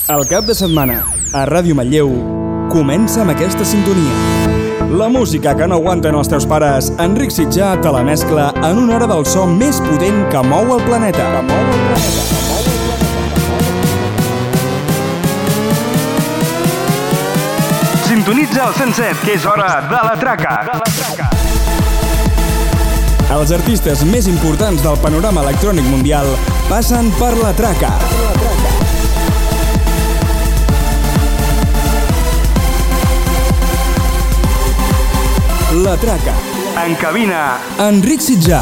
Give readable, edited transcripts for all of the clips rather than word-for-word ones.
El cap de setmana, a Ràdio Manlleu, comença amb aquesta sintonia. La música que no aguanten els teus pares, Enric Sitjà te la mescla en una hora del so més potent que mou el planeta. Sintonitza el 107, que és hora de la traca. Els artistes més importants del panorama electrònic mundial passen per la traca. La traca. En cabina, Enric Sitjà.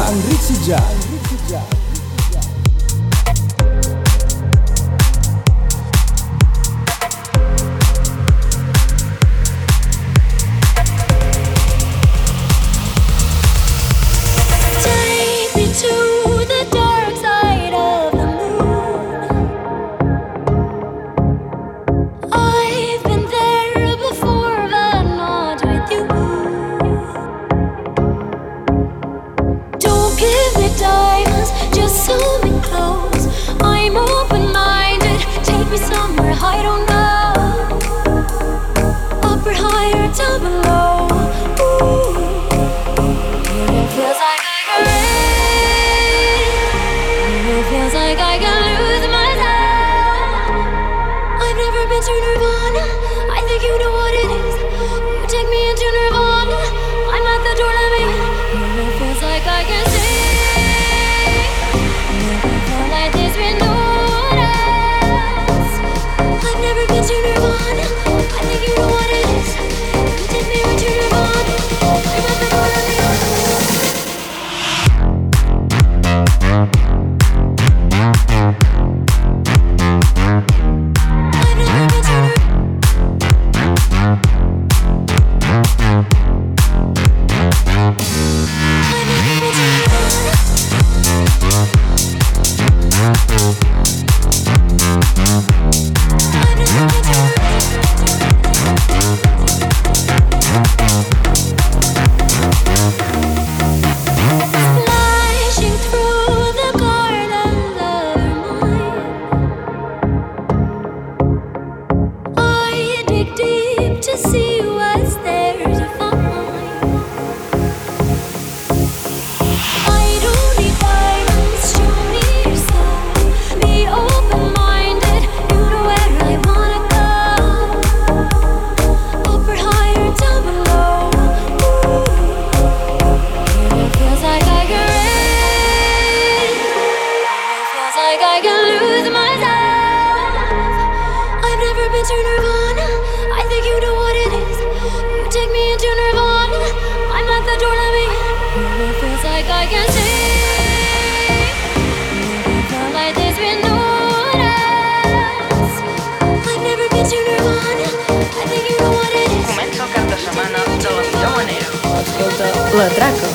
La traca.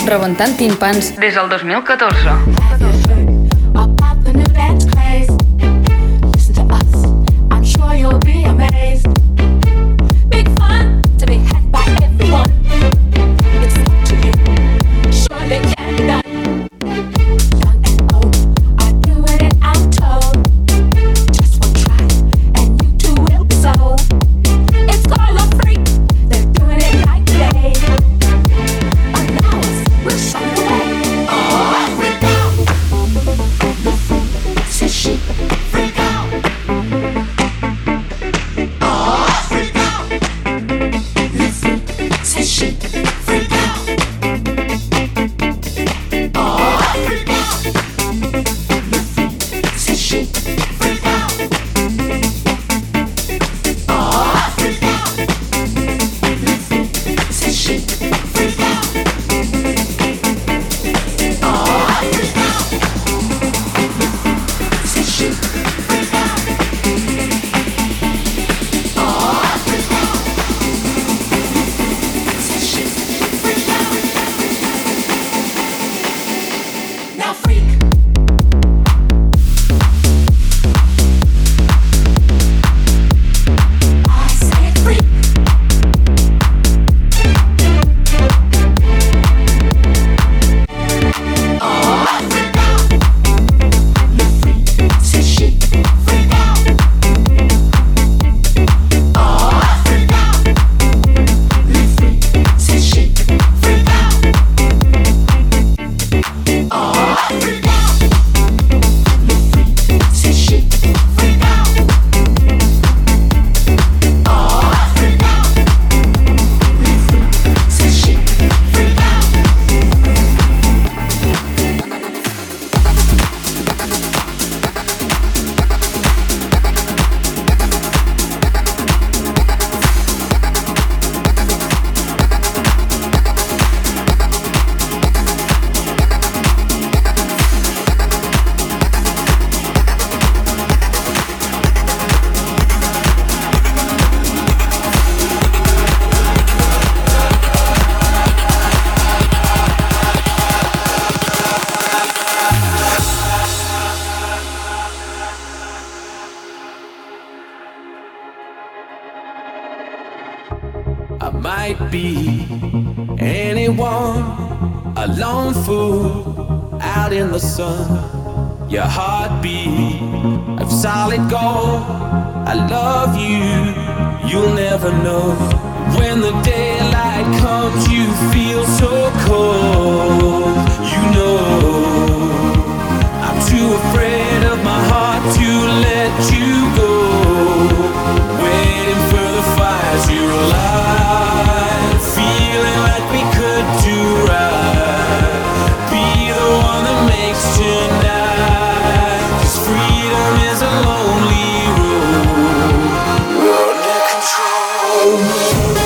rebentant timpans des del 2014. I might be anyone, a lone fool out in the sun. Your heartbeat of solid gold. I love you, you'll never know. When the daylight comes, you feel so cold. You know, I'm too afraid of my heart to let you go. Waiting for the fires, you're alive. Feeling like we could do right. Be the one that makes tonight. 'Cause freedom is a lonely road. We're under control.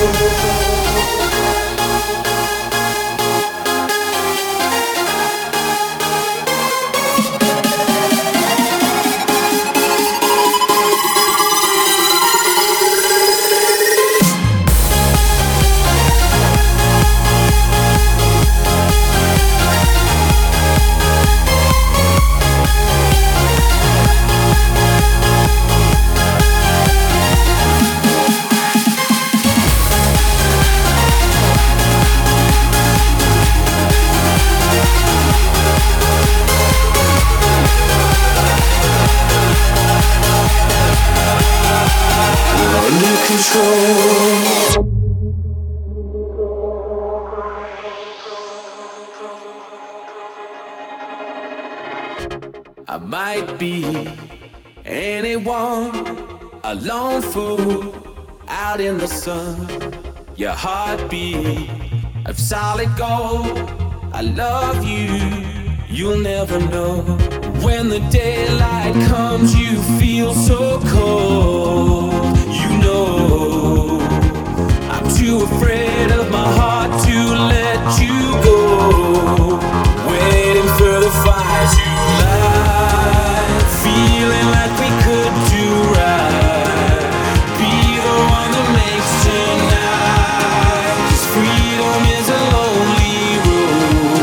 I might be anyone, a lone fool out in the sun. Your heartbeat of solid gold. I love you, you'll never know. When the daylight comes, you feel so cold. You know, I'm too afraid of my heart to let you go. Waiting for the fires you light. Feeling like we could do right. Be the one that makes tonight. 'Cause freedom is a lonely road.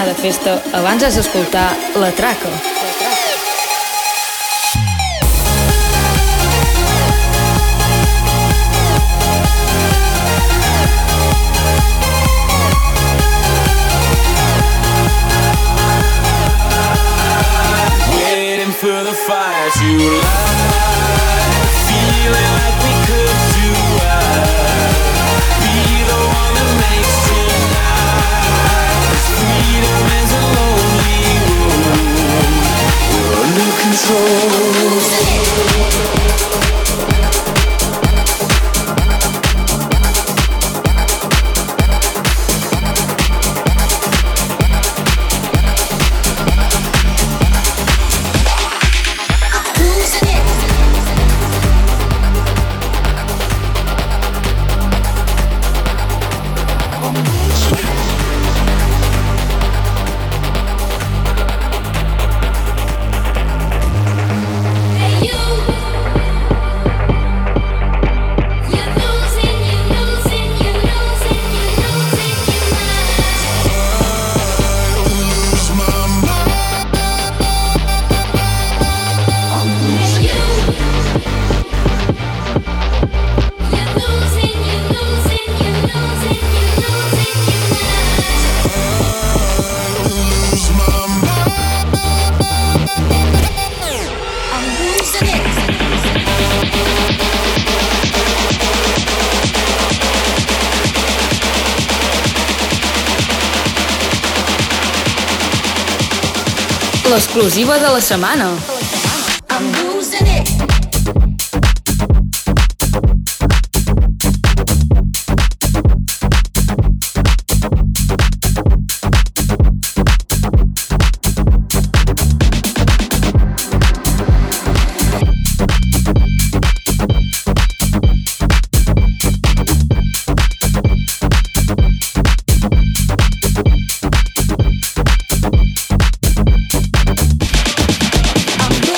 anar de festa, abans has d'escoltar La Traca. For the fire to light, feeling like we could do right. Be the one that makes tonight. This freedom is a lonely road. We're under control. L'exclusiva de la setmana. I'm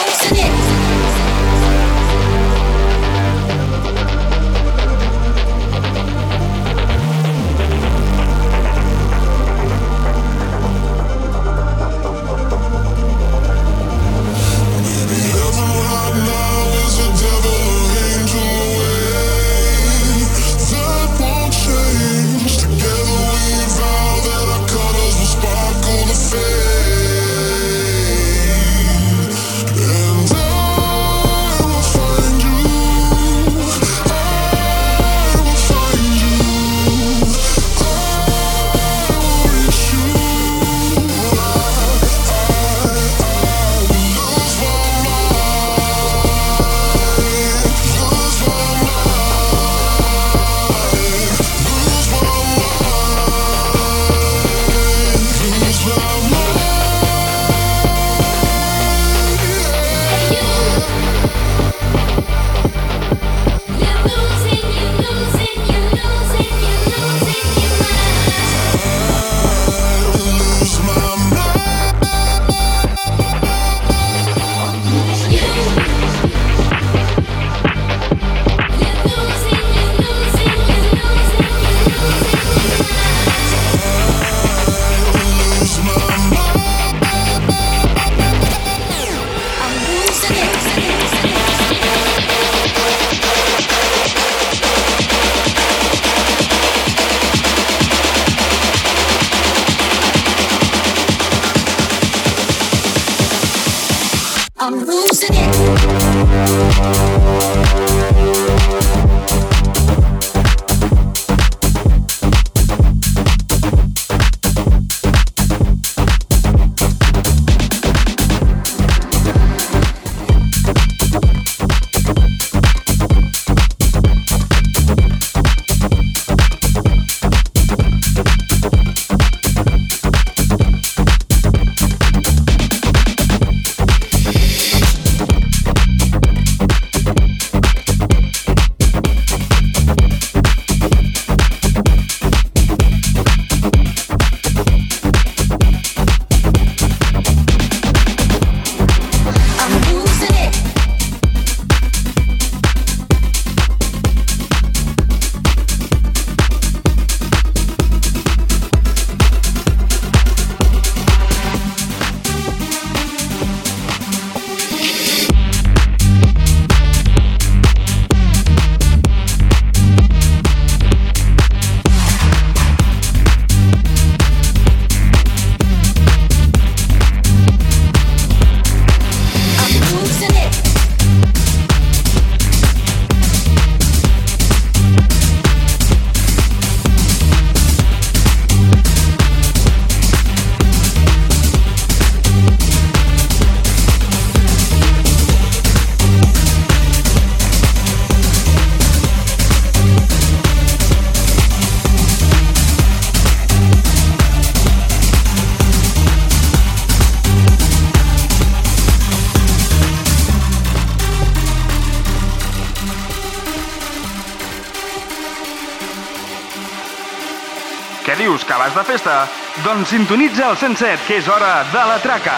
Què dius, que vas de festa? Doncs sintonitza el 107, que és hora de la traca.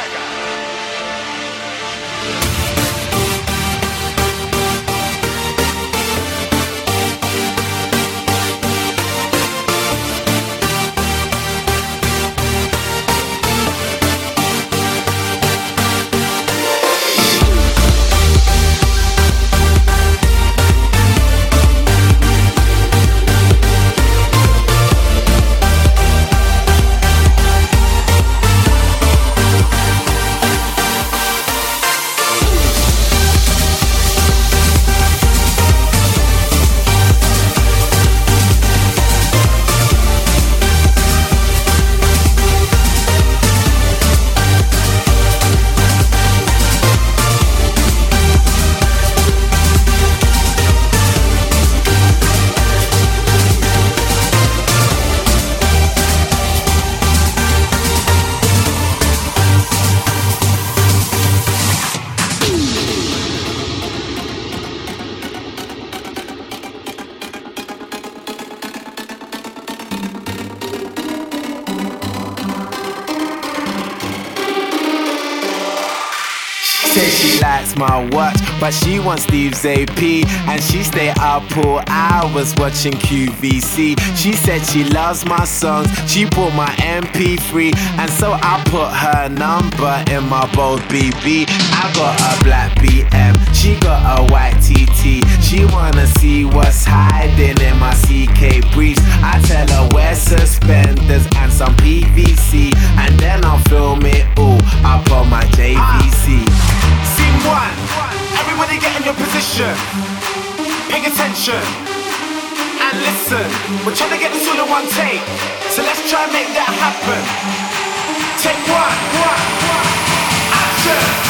She likes my watch, but she wants Steve's AP, and she stay up all hours watching QVC. She said she loves my songs, she bought my MP3, and so I put her number in my bold BB. I got a black BM, she got a white TT. She wanna see what's hiding in my CK briefs. I tell her wear suspenders and some PVC, and then I'll film it all up on my JVC. Scene one, everybody get in your position. Pay attention and listen. We're trying to get this all in one take, so let's try and make that happen. Take one, action.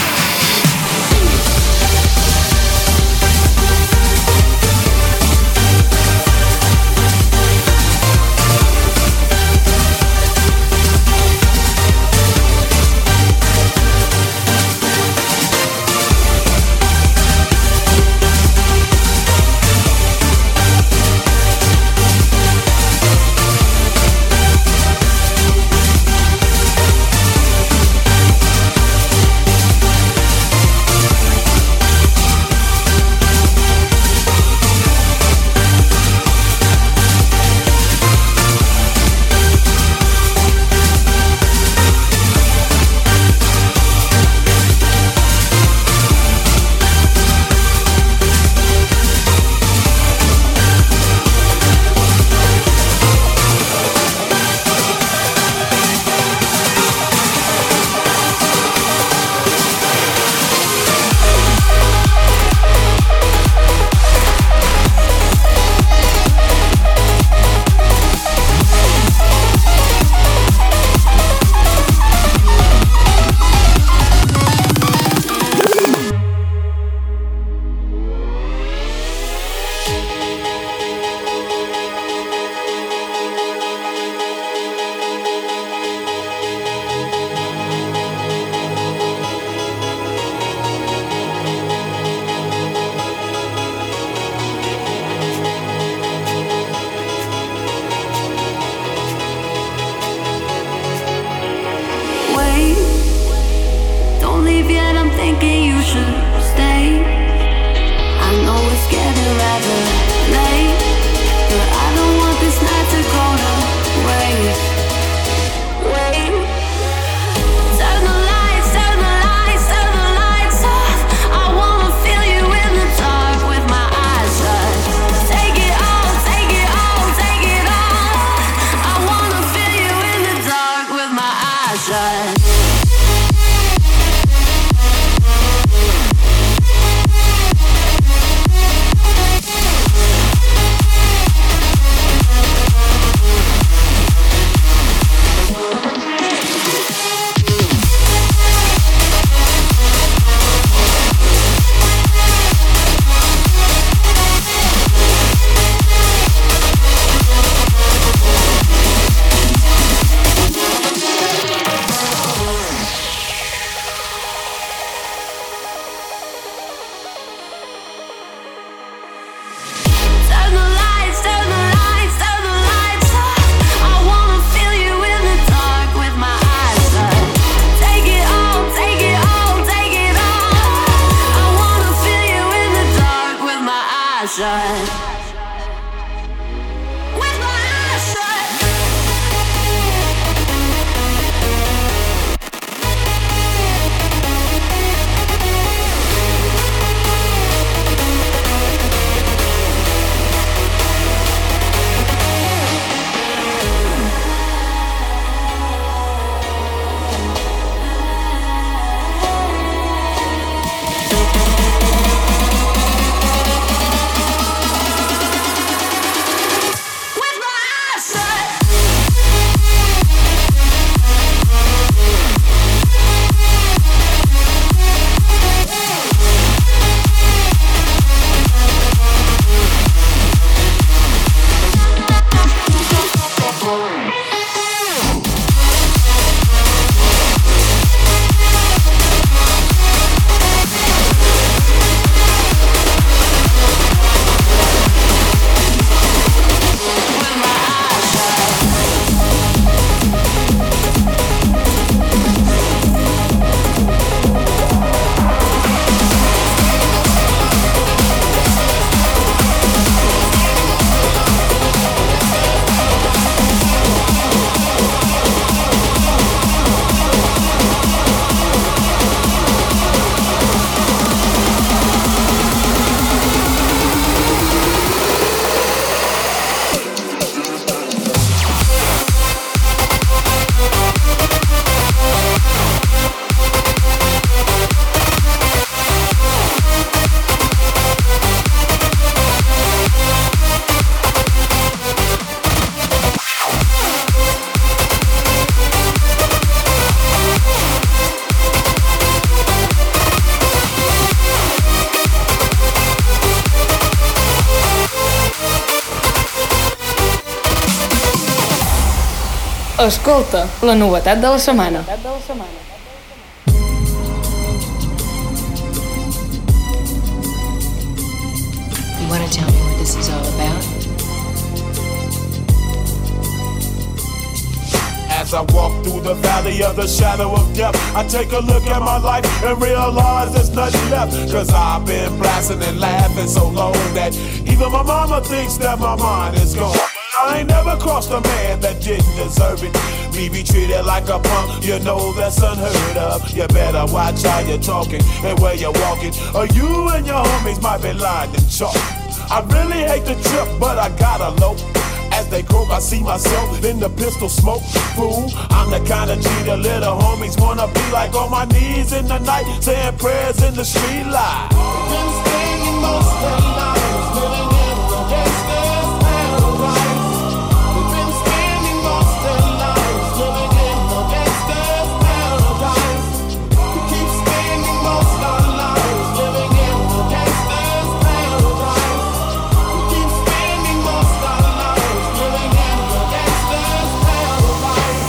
Escolta, la novetat de la setmana. You want to tell me what this is all about? As I walk through the valley of the shadow of death, I take a look at my life and realize there's nothing left. Cause I've been blasting and laughing so long that even my mama thinks that my mind is gone. I ain't never crossed a man that didn't deserve it. Me be treated like a punk, you know that's unheard of. You better watch how you're talking and where you're walking, or you and your homies might be lying to chalk. I really hate the trip, but I gotta low. As they croak, I see myself in the pistol smoke. Fool, I'm the kind of G the little homies wanna be like, on my knees in the night, saying prayers in the street light. Been spending most of their lives living in the gangster's paradise. We've been spending most of their lives living in the gangster's paradise. We keep spending most of our lives living in the gangster's paradise. We keep spending most of our lives living in the gangster's paradise.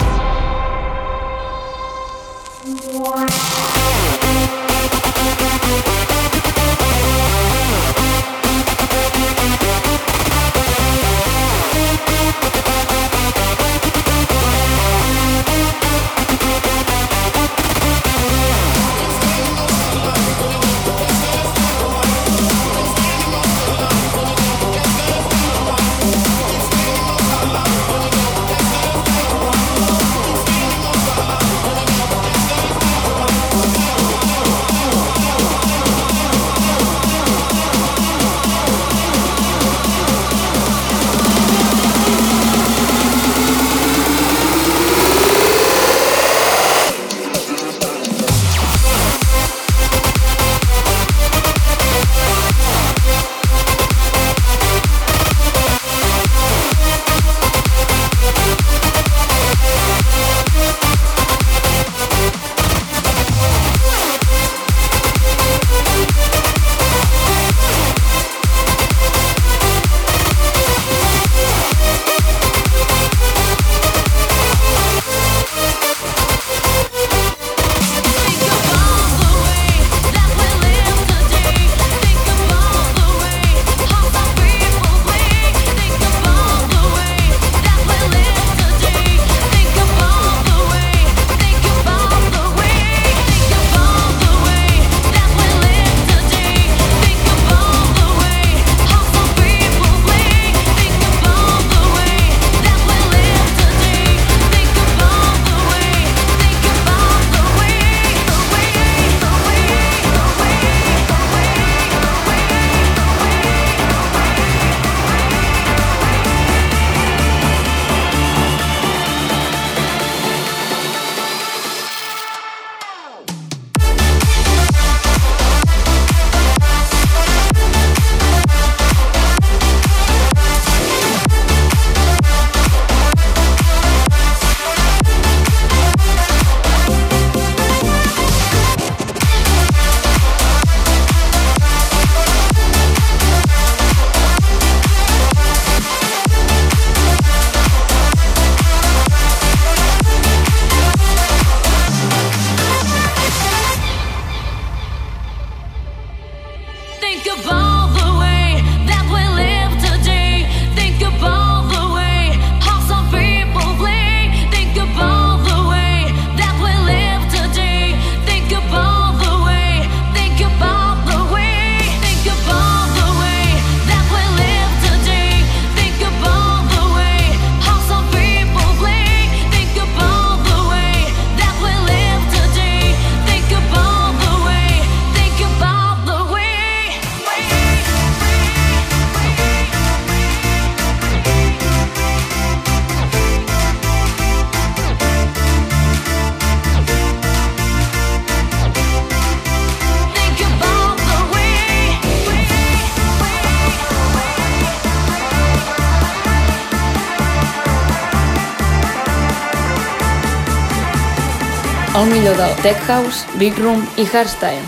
El millor del Tech House, Big Room i Hardstyle.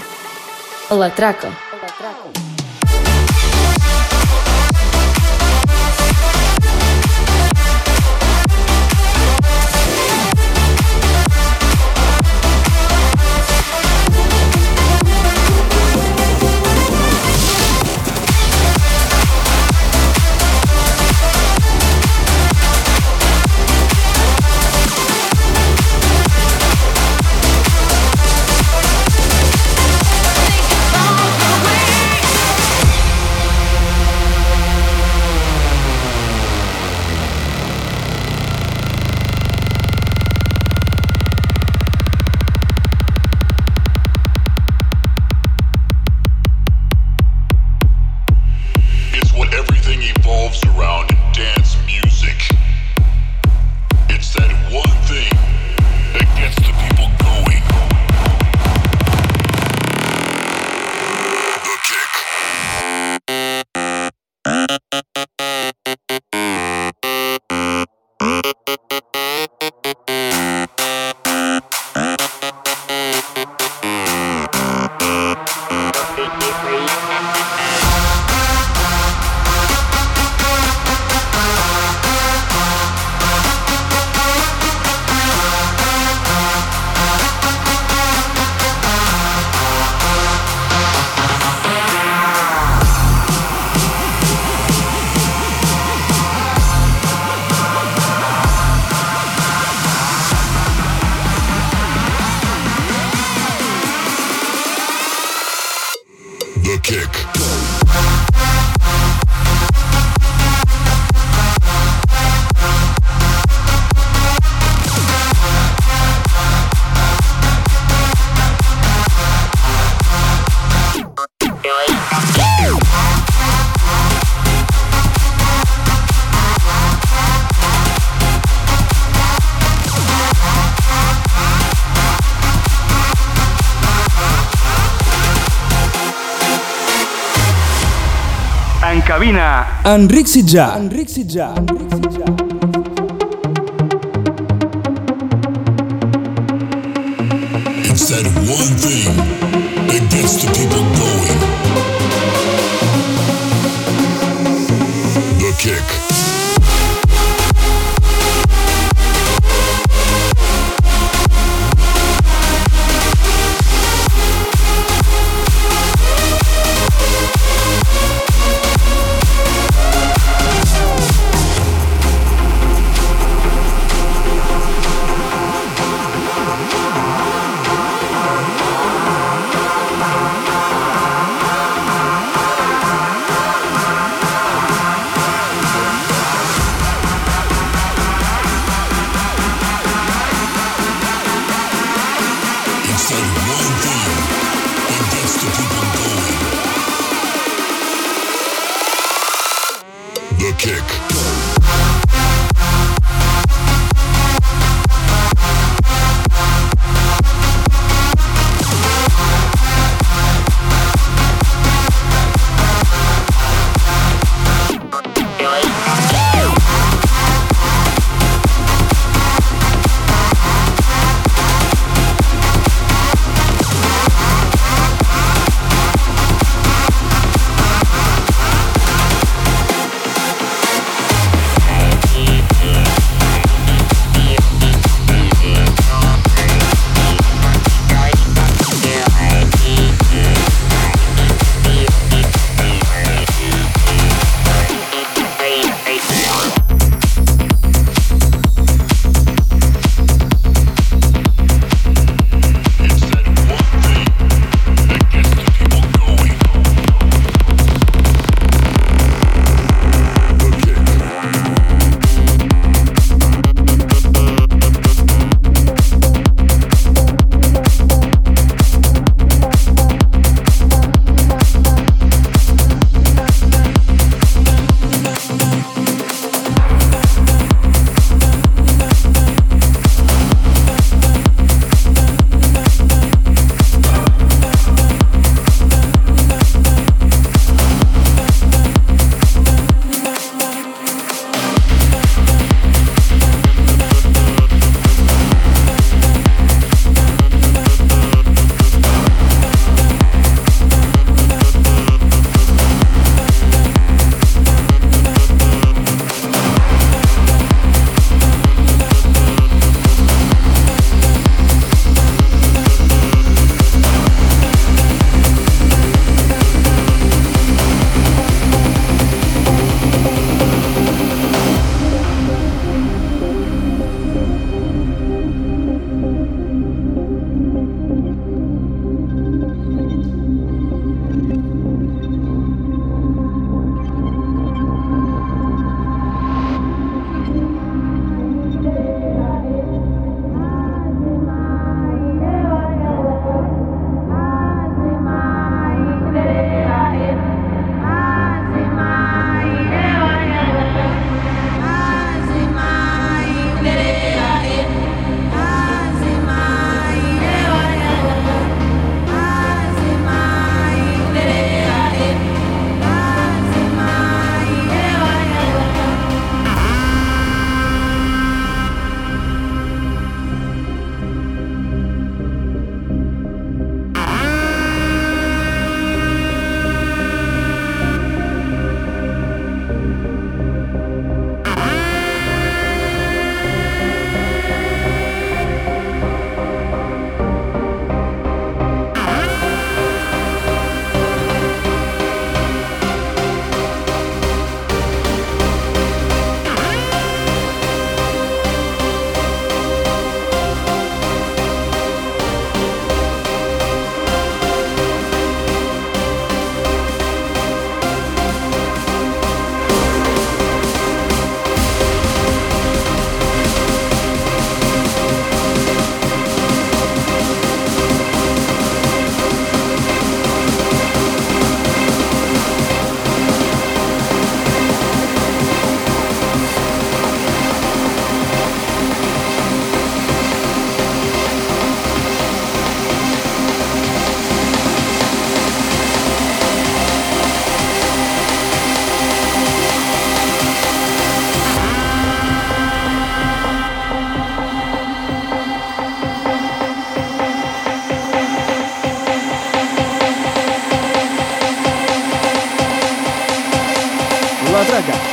La Traca. cabina, Enric Sitjà. It's that one thing that gets the people going. The kick.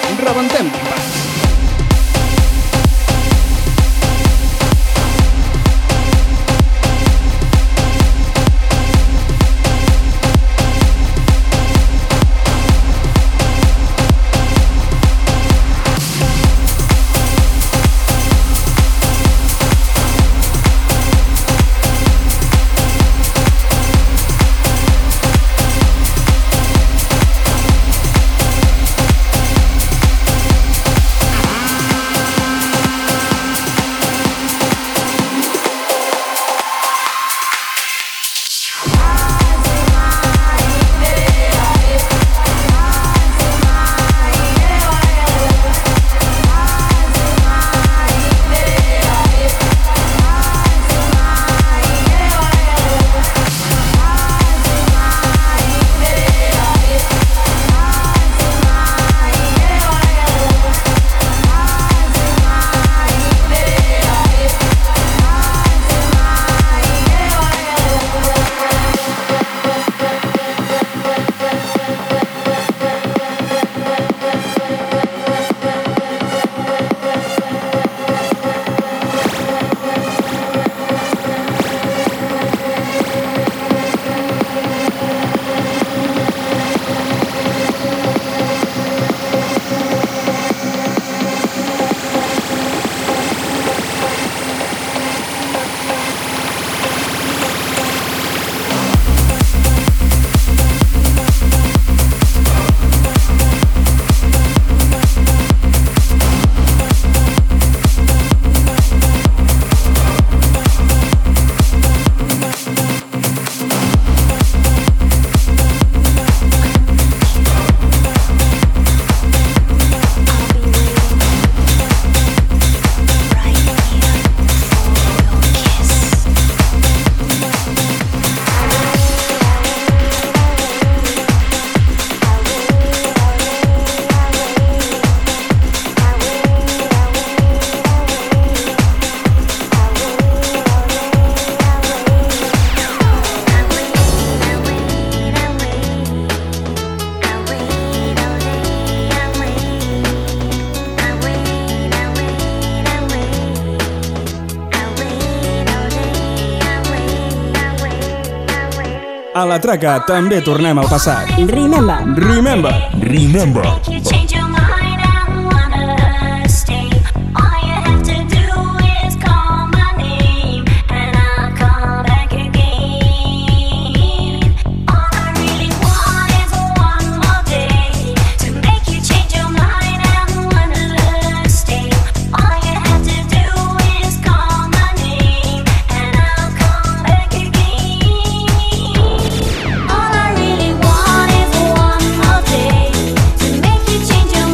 Rebentem timpans. A la traca també tornem al passat. Remember. You change your mind and wanna stay. All you have to do is call my name, and I'll come back again. All I really want is one more day to make you change your mind and wanna stay. All you have to do is call my name, and I'll come back again. All I really want is one more day to make you change your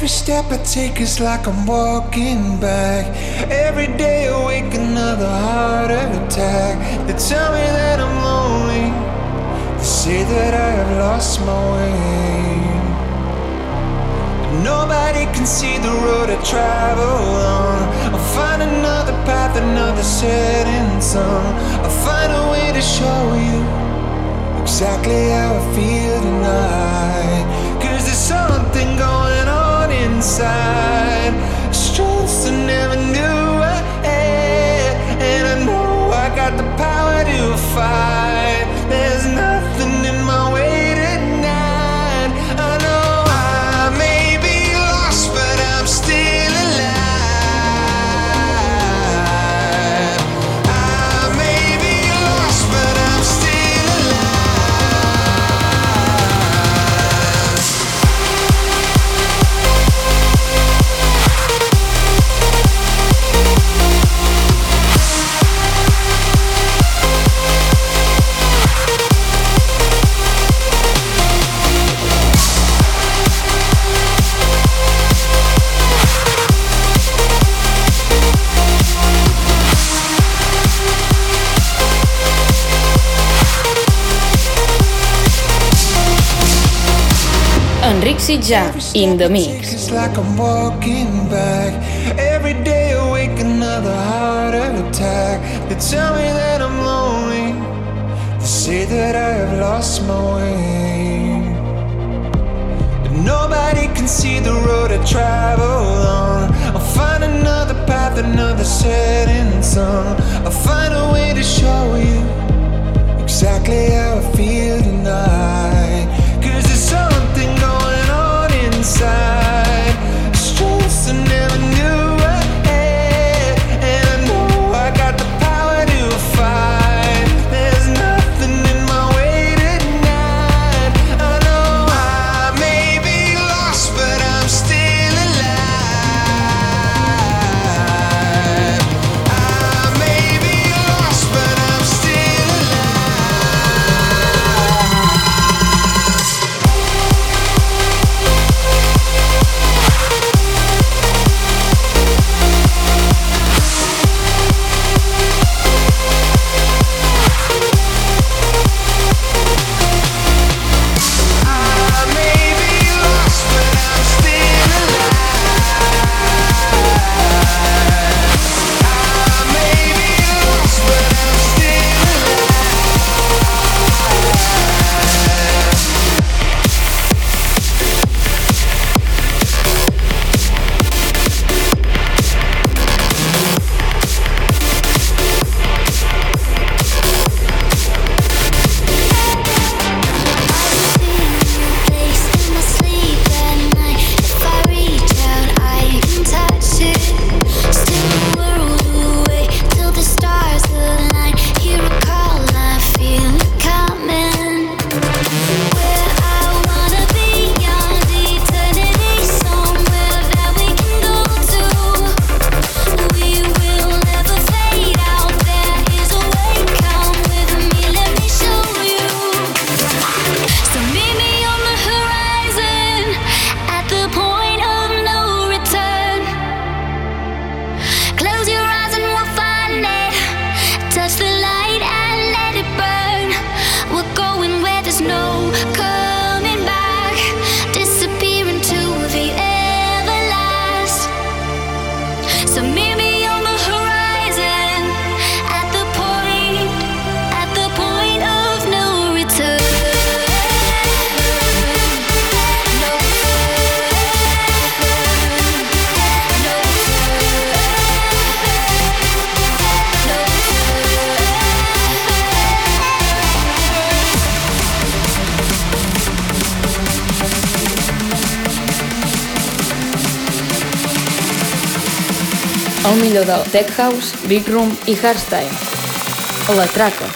Every step I take is like I'm walking back. Every day awake another heart attack. They tell me that I'm lonely. They say that I have lost my way. But nobody can see the road I travel on. I'll find another path, another setting sun. I'll find a way to show you exactly how I feel tonight. 'Cause there's something going on inside, strengths I never knew I had. And I know I got the power to fight. There's nothing in my way tonight. I know I may be lost, but I'm still alive. I may be lost, but I'm still alive. Enric Sitjà, in the mix. It's like I'm walking back. Every day awake another heart attack. They tell me that I'm lonely. They say that I have lost my way. But nobody can see the road I travel on. I'll find another path, another setting sun. I'll find a way to show you exactly how I feel tonight. 'Cause there's something going on inside, strengths I never knew I had. And I know I got the power to fight. There's nothing in my way tonight. I know I may be lost, but I'm still alive. I may be lost, but I'm still alive. El millor del Tech House, Big Room i Hardstyle. La Traca.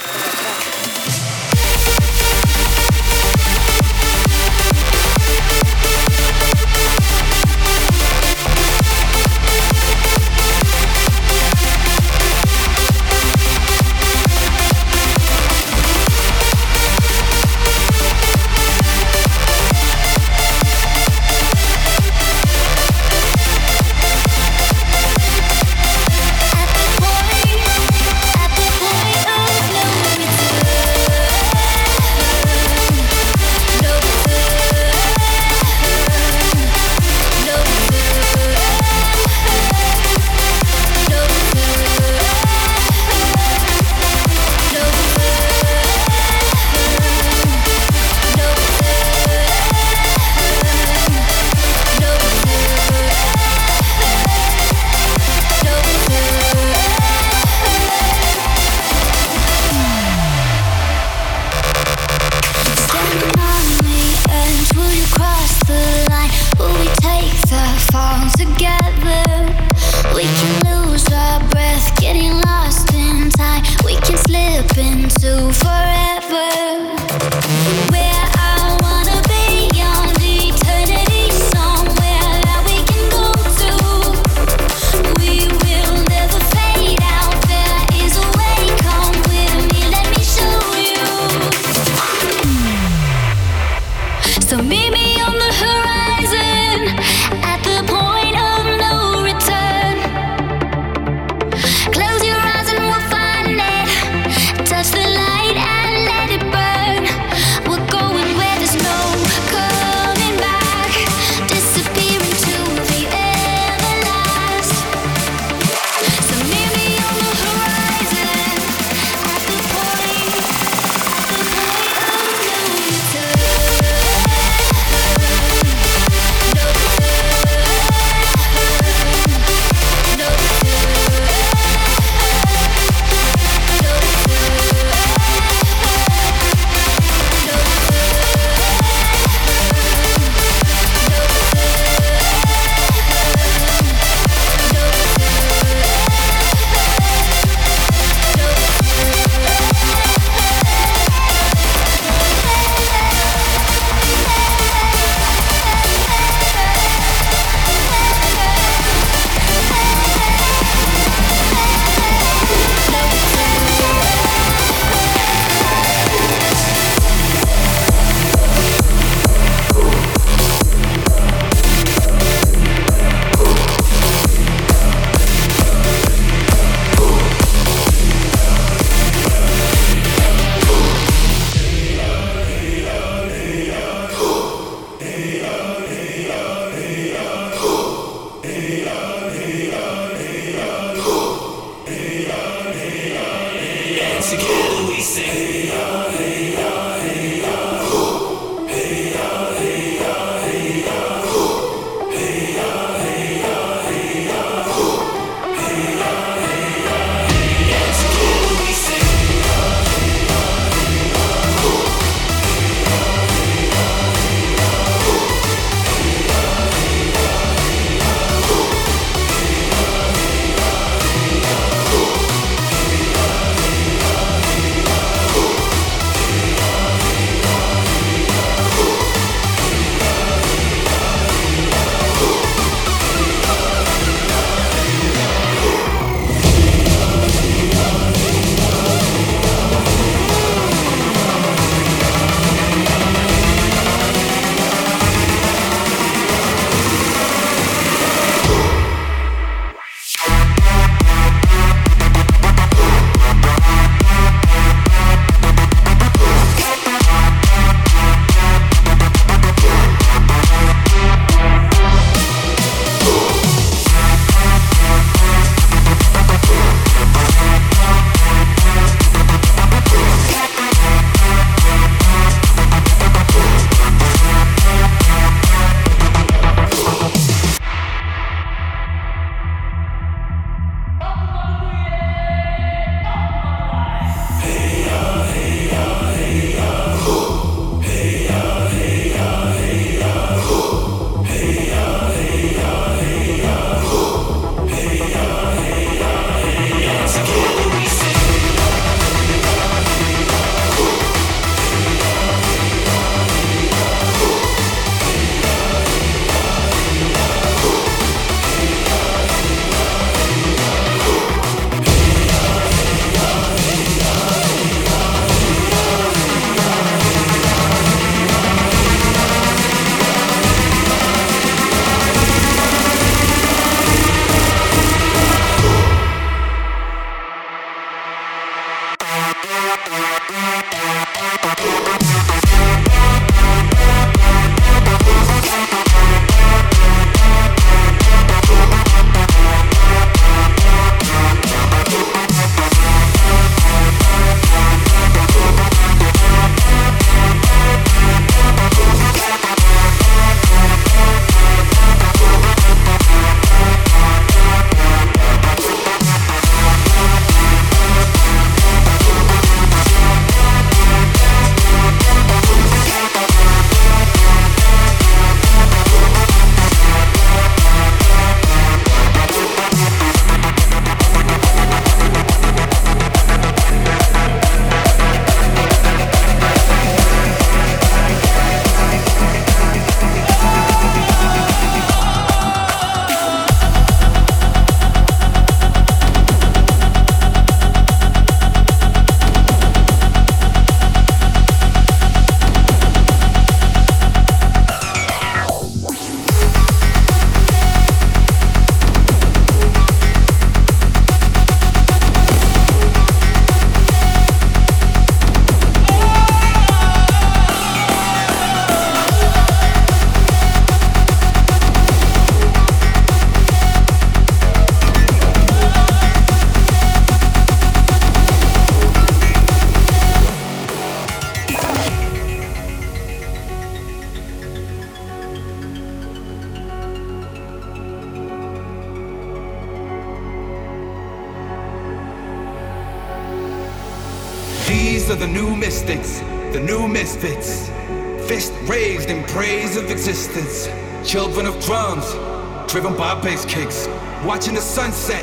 These are the new mystics, the new misfits. Fist raised in praise of existence. Children of drums, driven by bass kicks. Watching the sunset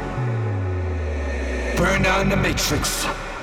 burn down the matrix.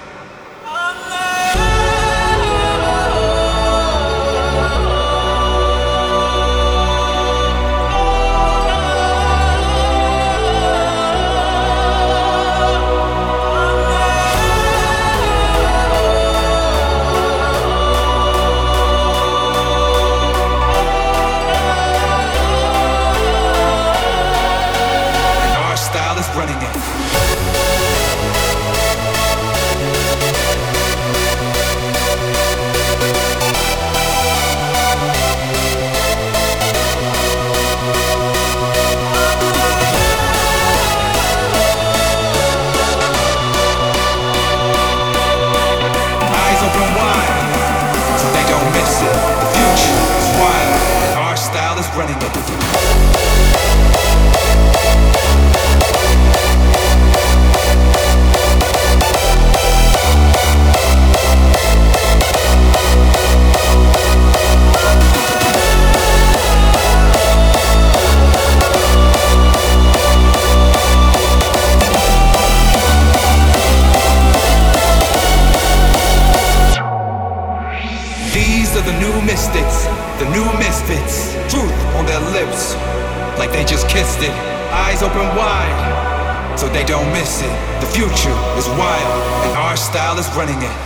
The new misfits, truth on their lips, like they just kissed it. Eyes open wide, so they don't miss it. The future is wild, and our style is running it.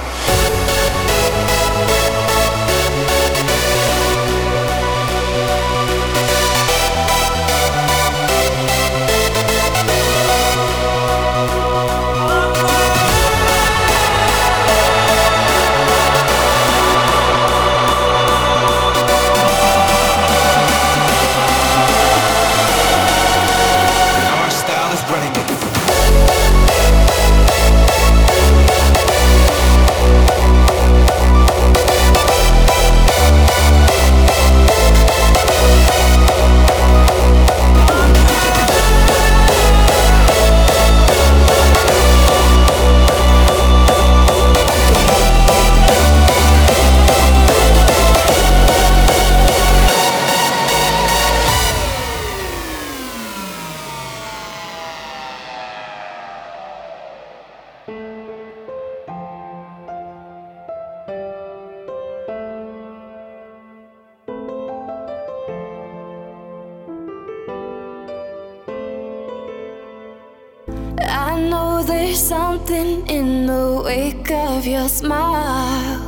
I know there's something in the wake of your smile.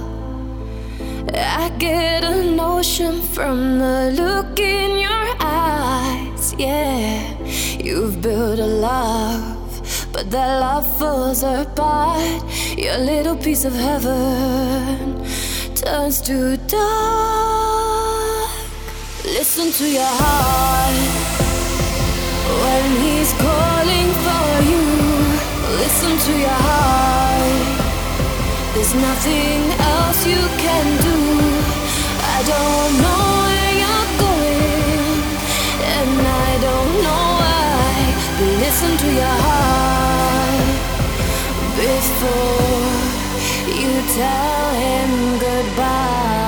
I get a notion from the look in your eyes. Yeah, you've built a love, but that love falls apart. Your little piece of heaven turns to dark. Listen to your heart when he's calling for you. Listen to your heart. There's nothing else you can do. I don't know where you're going, and I don't know why, but listen to your heart before you tell him goodbye.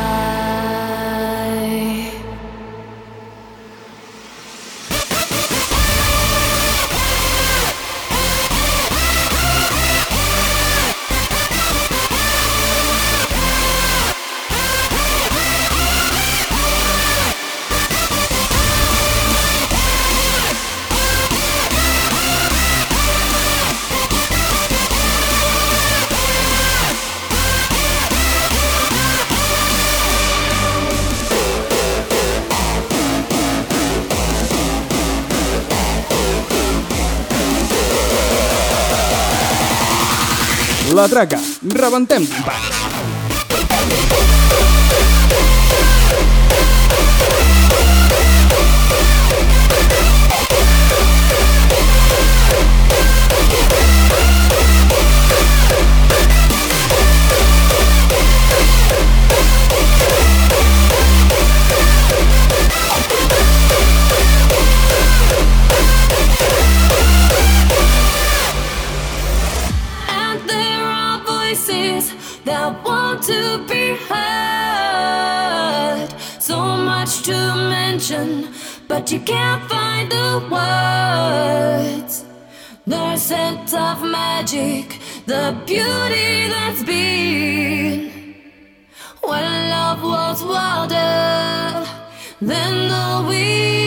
La Traca, rebentem timpans. but you can't find the words. The scent of magic, the beauty that's been. When love was wilder than the wind.